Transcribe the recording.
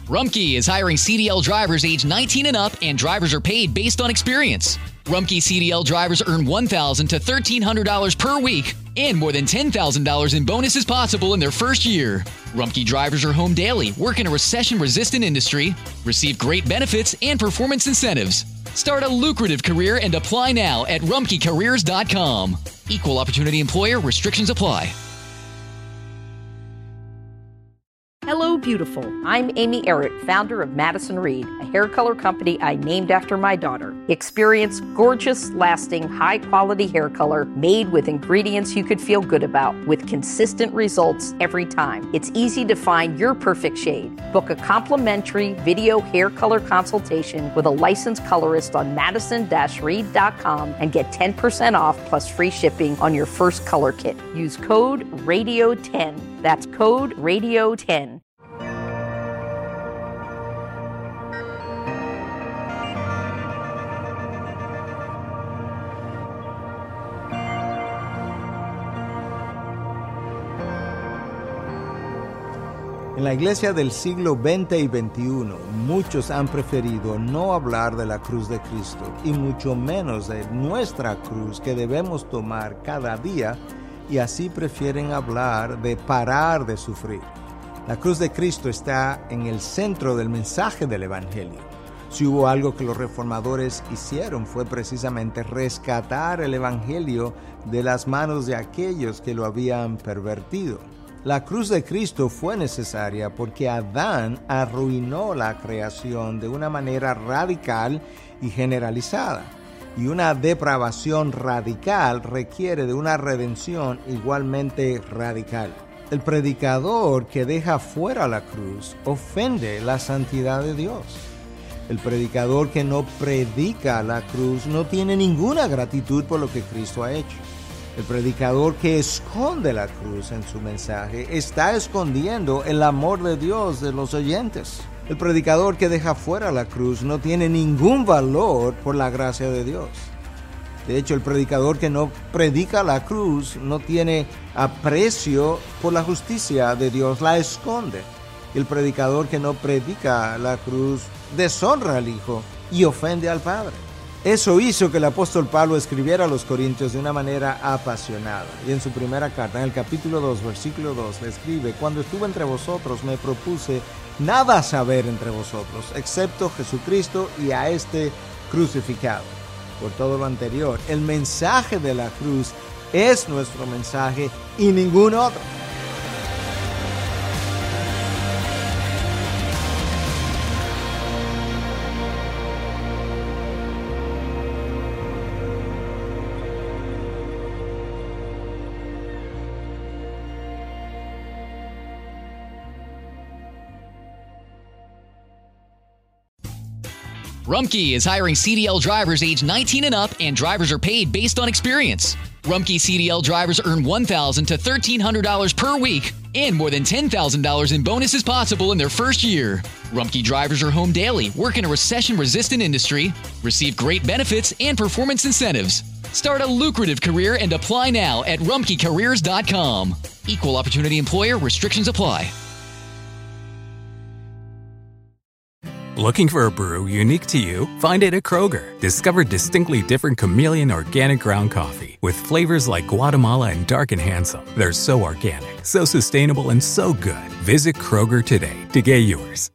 Rumpke is hiring CDL drivers age 19 and up, and drivers are paid based on experience. Rumpke CDL drivers earn $1,000 to $1,300 per week, and more than $10,000 in bonuses possible in their first year. Rumpke drivers are home daily, work in a recession-resistant industry, receive great benefits and performance incentives. Start a lucrative career and apply now at rumpkecareers.com. Equal opportunity employer. Restrictions apply. Hello, beautiful. I'm Amy Errett, founder of Madison Reed, a hair color company I named after my daughter. Experience gorgeous, lasting, high-quality hair color made with ingredients you could feel good about, with consistent results every time. It's easy to find your perfect shade. Book a complimentary video hair color consultation with a licensed colorist on madison-reed.com and get 10% off plus free shipping on your first color kit. Use code RADIO10. That's code RADIO10. En la iglesia del siglo XX y XXI, muchos han preferido no hablar de la cruz de Cristo y mucho menos de nuestra cruz que debemos tomar cada día, y así prefieren hablar de parar de sufrir. La cruz de Cristo está en el centro del mensaje del Evangelio. Si hubo algo que los reformadores hicieron fue precisamente rescatar el Evangelio de las manos de aquellos que lo habían pervertido. La cruz de Cristo fue necesaria porque Adán arruinó la creación de una manera radical y generalizada. Y una depravación radical requiere de una redención igualmente radical. El predicador que deja fuera la cruz ofende la santidad de Dios. El predicador que no predica la cruz no tiene ninguna gratitud por lo que Cristo ha hecho. El predicador que esconde la cruz en su mensaje está escondiendo el amor de Dios de los oyentes. El predicador que deja fuera la cruz no tiene ningún valor por la gracia de Dios. De hecho, el predicador que no predica la cruz no tiene aprecio por la justicia de Dios, la esconde. El predicador que no predica la cruz deshonra al Hijo y ofende al Padre. Eso hizo que el apóstol Pablo escribiera a los Corintios de una manera apasionada. Y en su primera carta, en el capítulo 2, versículo 2, le escribe: cuando estuve entre vosotros me propuse nada saber entre vosotros, excepto Jesucristo y a este crucificado. Por todo lo anterior, el mensaje de la cruz es nuestro mensaje y ningún otro. Rumpke is hiring CDL drivers age 19 and up, and drivers are paid based on experience. Rumpke CDL drivers earn $1,000 to $1,300 per week, and more than $10,000 in bonuses possible in their first year. Rumpke drivers are home daily, work in a recession-resistant industry, receive great benefits and performance incentives. Start a lucrative career and apply now at rumpkecareers.com. Equal opportunity employer. Restrictions apply. Looking for a brew unique to you? Find it at Kroger. Discover distinctly different chameleon organic ground coffee with flavors like Guatemala and Dark and Handsome. They're so organic, so sustainable, and so good. Visit Kroger today to get yours.